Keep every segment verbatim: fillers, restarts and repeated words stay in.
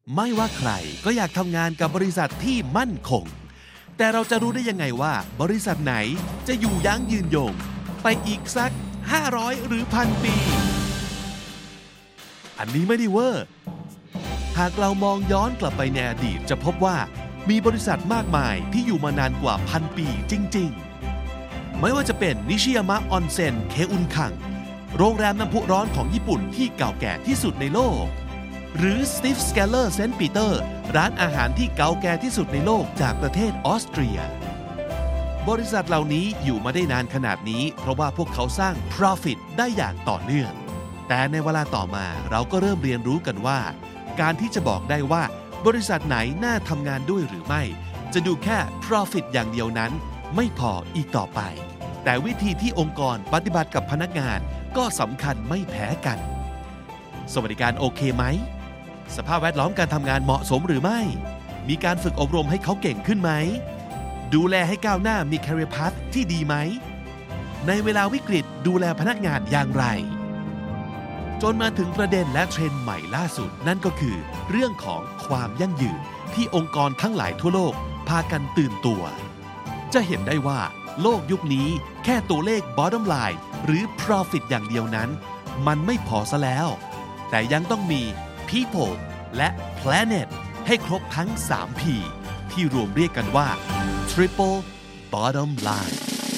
ไม่ว่าใครก็อยากทำงานกับบริษัทที่มั่นคงแต่เราจะรู้ได้ยังไงว่าบริษัทไหนจะอยู่ยั้งยืนยงไปอีกสักห้าร้อยหรือพันปีอันนี้ไม่ได้เวอร์หากเรามองย้อนกลับไปในอดีตจะพบว่ามีบริษัทมากมายที่อยู่มานานกว่าพันปีจริงๆไม่ว่าจะเป็นนิชิยามะออนเซ็นเคอุนคังโรงแรมน้ำพุร้อนของญี่ปุ่นที่เก่าแก่ที่สุดในโลกหรือ Steve Skeller เซนต์ปีเตอร์ร้านอาหารที่เก่าแก่ที่สุดในโลกจากประเทศออสเตรียบริษัทเหล่านี้อยู่มาได้นานขนาดนี้เพราะว่าพวกเขาสร้าง profit ได้อย่างต่อเนื่องแต่ในเวลาต่อมาเราก็เริ่มเรียนรู้กันว่าการที่จะบอกได้ว่าบริษัทไหนน่าทำงานด้วยหรือไม่จะดูแค่ profit อย่างเดียวนั้นไม่พออีกต่อไปแต่วิธีที่องค์กรปฏิบัติกับพนักงานก็สำคัญไม่แพ้กันสวัสดิการโอเคไหมสภาพแวดล้อมการทำงานเหมาะสมหรือไม่มีการฝึกอบรมให้เขาเก่งขึ้นไหมดูแลให้ก้าวหน้ามี career path ที่ดีไหมในเวลาวิกฤตดูแลพนักงานอย่างไรจนมาถึงประเด็นและเทรนด์ใหม่ล่าสุดนั่นก็คือเรื่องของความยั่งยืนที่องค์กรทั้งหลายทั่วโลกพากันตื่นตัวจะเห็นได้ว่าโลกยุคนี้แค่ตัวเลข bottom line หรือ profit อย่างเดียวนั้นมันไม่พอซะแล้วแต่ยังต้องมี people และ planet ให้ครบทั้ง สาม พี ที่รวมเรียกกันว่า triple bottom line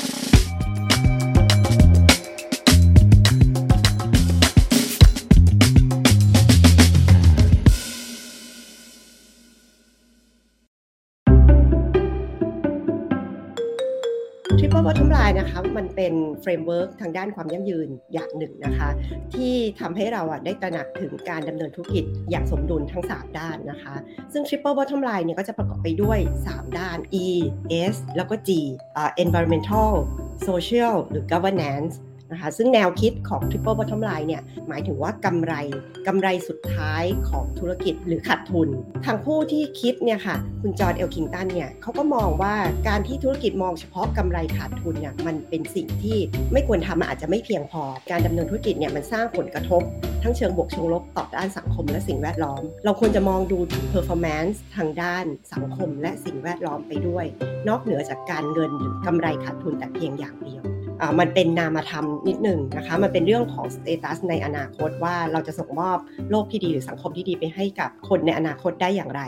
Triple Bottom Line นะคะมันเป็นเฟรมเวิร์กทางด้านความยั่งยืนอย่างหนึ่งนะคะที่ทำให้เราอ่ะได้ตระหนักถึงการดำเนินธุรกิจอย่างสมดุลทั้งสามด้านนะคะซึ่ง Triple Bottom Line เนี่ยก็จะประกอบไปด้วยสามด้าน E S แล้วก็ G อ่า Environmental Social หรือ Governanceนะคะซึ่งแนวคิดของ Triple Bottom Line เนี่ยหมายถึงว่ากำไรกำไรสุดท้ายของธุรกิจหรือขาดทุนทางผู้ที่คิดเนี่ยค่ะคุณจอห์นเอลคิงตันเนี่ยเขาก็มองว่าการที่ธุรกิจมองเฉพาะกำไรขาดทุนเนี่ยมันเป็นสิ่งที่ไม่ควรทำอาจจะไม่เพียงพอการดำเนินธุรกิจเนี่ยมันสร้างผลกระทบทั้งเชิงบวกเชิงลบต่อด้านสังคมและสิ่งแวดล้อมเราควรจะมองดูถึง performance ทางด้านสังคมและสิ่งแวดล้อมไปด้วยนอกเหนือจากการเงินหรือกำไรขาดทุนแต่เพียงอย่างเดียวมันเป็นนามธรรมนิดหนึ่งนะคะมันเป็นเรื่องของสเตตัสในอนาคตว่าเราจะส่งมอบโลกที่ดีหรือสังคมที่ดีไปให้กับคนในอนาคตได้อย่างไร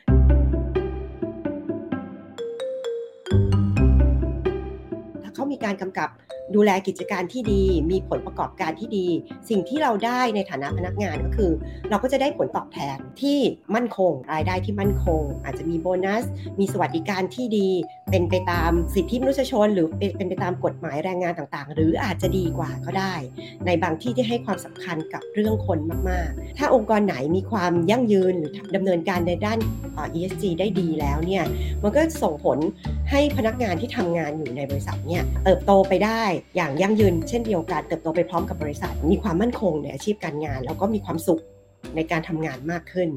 ถ้าเขามีการกำกับดูแลกิจการที่ดีมีผลประกอบการที่ดีสิ่งที่เราได้ในฐานะพนักงานก็คือเราก็จะได้ผลตอบแทนที่มั่นคงรายได้ที่มั่นคงอาจจะมีโบนัสมีสวัสดิการที่ดีเป็นไปตามสิทธิมนุษยชนหรือเป็นไปตามกฎหมายแรงงานต่างๆหรืออาจจะดีกว่าก็ได้ในบางที่ที่ให้ความสำคัญกับเรื่องคนมากๆถ้าองค์กรไหนมีความยั่งยืนหรือดำเนินการในด้าน อี เอส จี ได้ดีแล้วเนี่ยมันก็ส่งผลให้พนักงานที่ทำงานอยู่ในบริษัทเนี่ยเติบโตไปได้อย่างยั่งยืนเช่นเดียวกันเติบโตไปพร้อมกับบริษัทมีความมั่นคงในอาชีพการงานแล้วก็มีความสุขในการทำงานมากขึ้น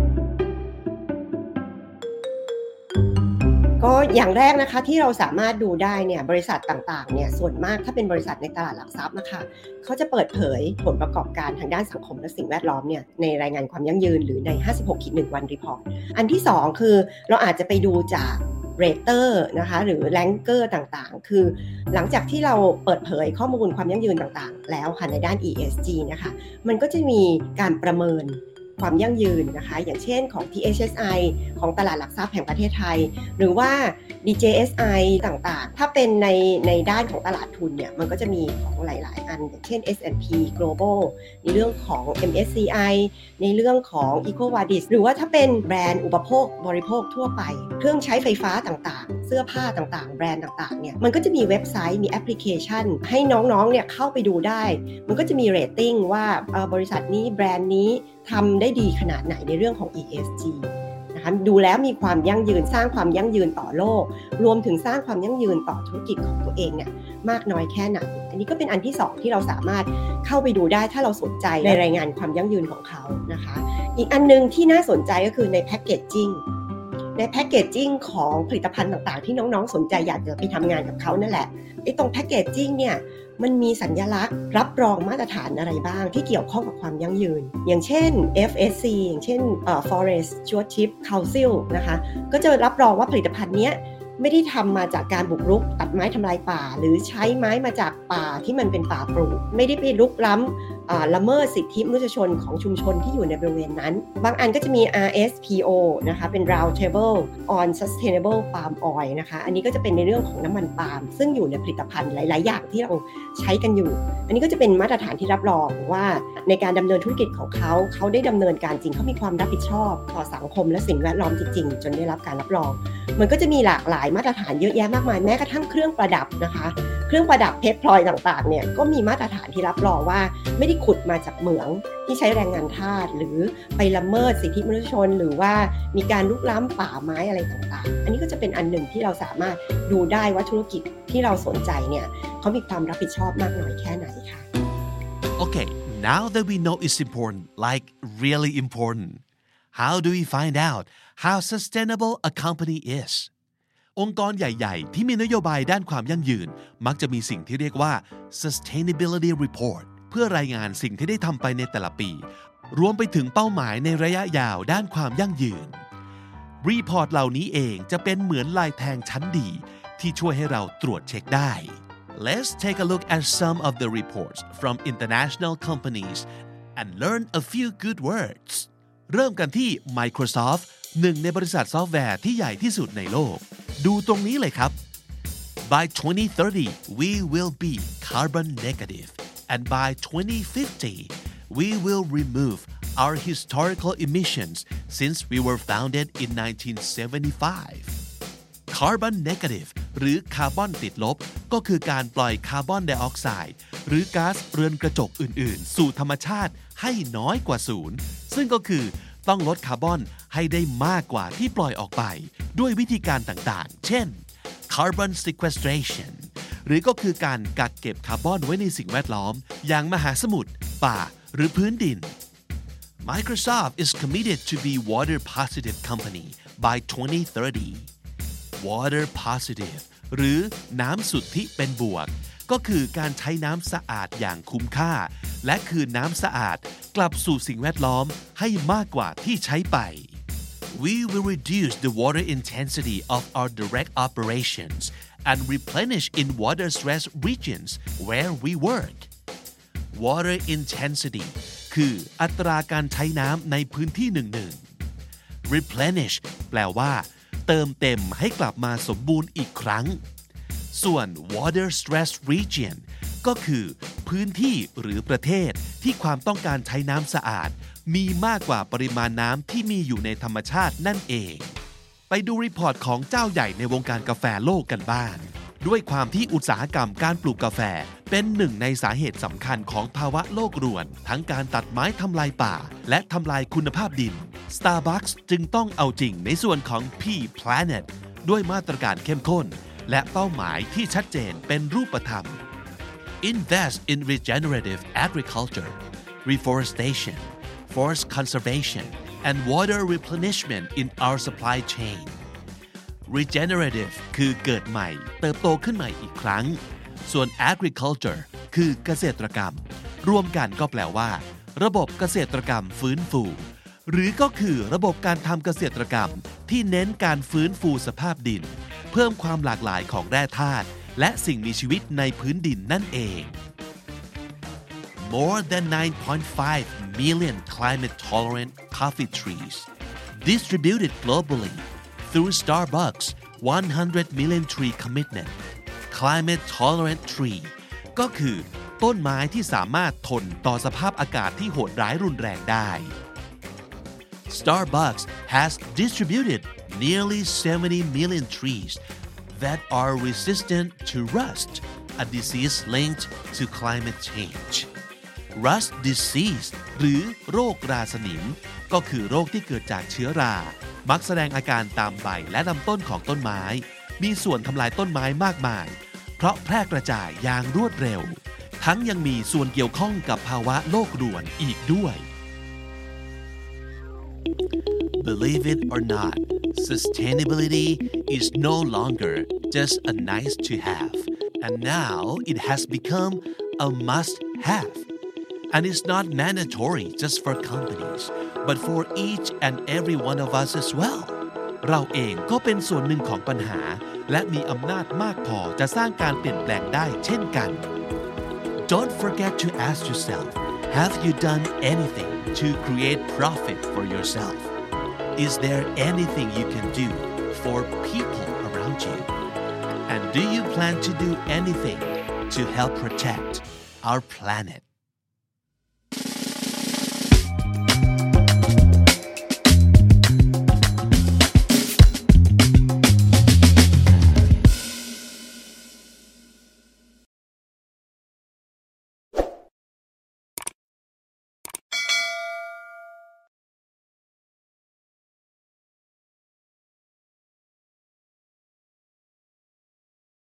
ก็อย่างแรกนะคะที่เราสามารถดูได้เนี่ยบริษัทต่างๆเนี่ยส่วนมากถ้าเป็นบริษัทในตลาดหลักทรัพย์นะคะเขาจะเปิดเผยผลประกอบการทางด้านสังคมและสิ่งแวดล้อมเนี่ยในรายงานความยั่งยืนหรือใน ห้าสิบหก หนึ่ง วันรีพอร์ตอันที่สองคือเราอาจจะไปดูจากเรเตอร์นะคะหรือแรงเกอร์ต่างๆคือหลังจากที่เราเปิดเผยข้อมูลความยั่งยืนต่างๆแล้วค่ะในด้าน อี เอส จี นะคะมันก็จะมีการประเมินความยั่งยืนนะคะอย่างเช่นของ ที เอช เอส ไอ ของตลาดหลักทรัพย์แห่งประเทศไทยหรือว่า ดี เจ เอส ไอ ต่างๆถ้าเป็นในในด้านของตลาดทุนเนี่ยมันก็จะมีของหลายๆอันอย่างเช่น เอส แอนด์ พี Global ในเรื่องของ เอ็ม เอส ซี ไอ ในเรื่องของ EcoVadis หรือว่าถ้าเป็นแบรนด์อุปโภคบริโภคทั่วไปเครื่องใช้ไฟฟ้าต่างๆเสื้อผ้าต่างๆแบรนด์ต่างๆเนี่ยมันก็จะมีเว็บไซต์มีแอปพลิเคชันให้น้องๆเนี่ยเข้าไปดูได้มันก็จะมีเรตติ้งว่าบริษัทนี้แบรนด์นี้ทำได้ดีขนาดไหนในเรื่องของ อี เอส จี นะคะดูแล้วมีความยั่งยืนสร้างความยั่งยืนต่อโลกรวมถึงสร้างความยั่งยืนต่อธุรกิจของตัวเองเนี่ยมากน้อยแค่ไหนอันนี้ก็เป็นอันที่สองที่เราสามารถเข้าไปดูได้ถ้าเราสนใจในรายงานความยั่งยืนของเขานะคะอีกอันนึงที่น่าสนใจก็คือในแพคเกจจิ้งในแพคเกจจิ้งของผลิตภัณฑ์ต่างๆที่น้องๆสนใจอยากจะไปทำงานกับเขานั่นแหละไอ้ตรงแพคเกจจิ้งเนี่ยมันมีสัญลักษณ์รับรองมาตรฐานอะไรบ้างที่เกี่ยวข้องกับความยั่งยืนอย่างเช่น เอฟ เอส ซี อย่างเช่นเอ่อ Forest Stewardship Council นะคะก็จะรับรองว่าผลิตภัณฑ์เนี้ยไม่ได้ทำมาจากการบุกรุกตัดไม้ทำลายป่าหรือใช้ไม้มาจากป่าที่มันเป็นป่าปลูกไม่ได้ไปรุกล้ำละเมิดสิทธิมนุษยชนของชุมชนที่อยู่ในบริเวณนั้นบางอันก็จะมี อาร์ เอส พี โอ นะคะเป็น Round Table on Sustainable Palm Oil นะคะอันนี้ก็จะเป็นในเรื่องของน้ำมันปาล์มซึ่งอยู่ในผลิตภัณฑ์หลายๆอย่างที่เราใช้กันอยู่อันนี้ก็จะเป็นมาตรฐานที่รับรองว่าในการดำเนินธุรกิจของเขาเขาได้ดำเนินการจริงเขามีความรับผิดชอบต่อสังคมและสิ่งแวดล้อมจริงๆจนได้รับการรับรองมันก็จะมีหลากหลายมาตรฐานเยอะแยะมากมายแม้กระทั่งเครื่องประดับนะคะเครื่องประดับเพชรพลอยต่างๆเนี่ยก็มีมาตรฐานที่รับรองว่าไม่ได้ขุดมาจากเหมืองที่ใช้แรงงานทาสหรือไปละเมิดสิทธิมนุษยชนหรือว่ามีการลุกล้ำป่าไม้อะไรต่างๆอันนี้ก็จะเป็นอันหนึ่งที่เราสามารถดูได้ว่าธุรกิจที่เราสนใจเนี่ยเขามีความรับผิดชอบมากน้อยแค่ไหนค่ะ Okay, now that we know it's important, like really important, how do we find out how sustainable a company is?องค์กรใหญ่ๆที่มีนโยบายด้านความยั่งยืนมักจะมีสิ่งที่เรียกว่า sustainability report เพื่อรายงานสิ่งที่ได้ทำไปในแต่ละปีรวมไปถึงเป้าหมายในระยะยาวด้านความยั่งยืนรีพอร์ตเหล่านี้เองจะเป็นเหมือนลายแทงชั้นดีที่ช่วยให้เราตรวจเช็คได้ Let's take a look at some of the reports from international companies and learn a few good words เริ่มกันที่ Microsoft หนึ่งในบริษัทซอฟต์แวร์ที่ใหญ่ที่สุดในโลกดูตรงนี้เลยครับ By twenty thirty we will be carbon negative and by twenty fifty we will remove our historical emissions since we were founded in nineteen seventy-five Carbon negative หรือคาร์บอนติดลบก็คือการปล่อยคาร์บอนไดออกไซด์หรือก๊าซเรือนกระจกอื่นๆสู่ธรรมชาติให้น้อยกว่าศูนย์ซึ่งก็คือต้องลดคาร์บอนให้ได้มากกว่าที่ปล่อยออกไปด้วยวิธีการต่างๆเช่น carbon sequestration หรือก็คือการกักเก็บคาร์บอนไว้ในสิ่งแวดล้อมอย่างมหาสมุทรป่าหรือพื้นดิน Microsoft is committed to be water positive company by twenty thirty water positive หรือน้ำสุทธิเป็นบวกก็คือการใช้น้ำสะอาดอย่างคุ้มค่าและคืนน้ำสะอาดกลับสู่สิ่งแวดล้อมให้มากกว่าที่ใช้ไป We will reduce the water intensity of our direct operations and replenish in water-stressed regions where we work. Water intensity คืออัตราการใช้น้ำในพื้นที่หนึ่งๆ Replenish แปลว่าเติมเต็มให้กลับมาสมบูรณ์อีกครั้งส่วน water stress region ก็คือพื้นที่หรือประเทศที่ความต้องการใช้น้ำสะอาดมีมากกว่าปริมาณน้ำที่มีอยู่ในธรรมชาตินั่นเองไปดูรีพอร์ตของเจ้าใหญ่ในวงการกาแฟโลกกันบ้างด้วยความที่อุตสาหกรรมการปลูกกาแฟเป็นหนึ่งในสาเหตุสำคัญของภาวะโลกรวนทั้งการตัดไม้ทำลายป่าและทำลายคุณภาพดิน Starbucks จึงต้องเอาจริงในส่วนของ P Planet ด้วยมาตรการเข้มข้นและเป้าหมายที่ชัดเจนเป็นรูปธรรม Invest in regenerative agriculture, reforestation, forest conservation, and water replenishment in our supply chain. Regenerative คือเกิดใหม่เติบโตขึ้นใหม่อีกครั้งส่วน agriculture คือเกษตรกรรมรวมกันก็แปลว่าระบบเกษตรกรรมฟื้นฟูหรือก็คือระบบการทำเกษตรกรรมที่เน้นการฟื้นฟูสภาพดินเพิ่มความหลากหลายของแร่ธาตุและสิ่งมีชีวิตในพื้นดินนั่นเอง More than nine point five million climate-tolerant coffee trees distributed globally through Starbucks one hundred million tree commitment climate-tolerant tree ก็คือต้นไม้ที่สามารถทนต่อสภาพอากาศที่โหดร้ายรุนแรงได้ Starbucks has distributed nearly seventy million trees that are resistant to rust, a disease linked to climate change. Rust disease หรือโรคราสนิมก็คือโรคที่เกิดจากเชื้อรามักแสดงอาการตามใบและลำต้นของต้นไม้มีส่วนทำลายต้นไม้มากมายเพราะแพร่กระจายอย่างรวดเร็วทั้งยังมีส่วนเกี่ยวข้องกับภาวะโลกรวนอีกด้วย Believe it or not, sustainability is no longer just a nice to have, and now it has become a must-have. And it's not mandatory just for companies, but for each and every one of us as well. เราเองก็เป็นส่วนหนึ่งของปัญหาและมีอำนาจมากพอจะสร้างการเปลี่ยนแปลงได้เช่นกัน Don't forget to ask yourself, have you done anything to create profit for yourself? Is there anything you can do for people around you? And do you plan to do anything to help protect our planet?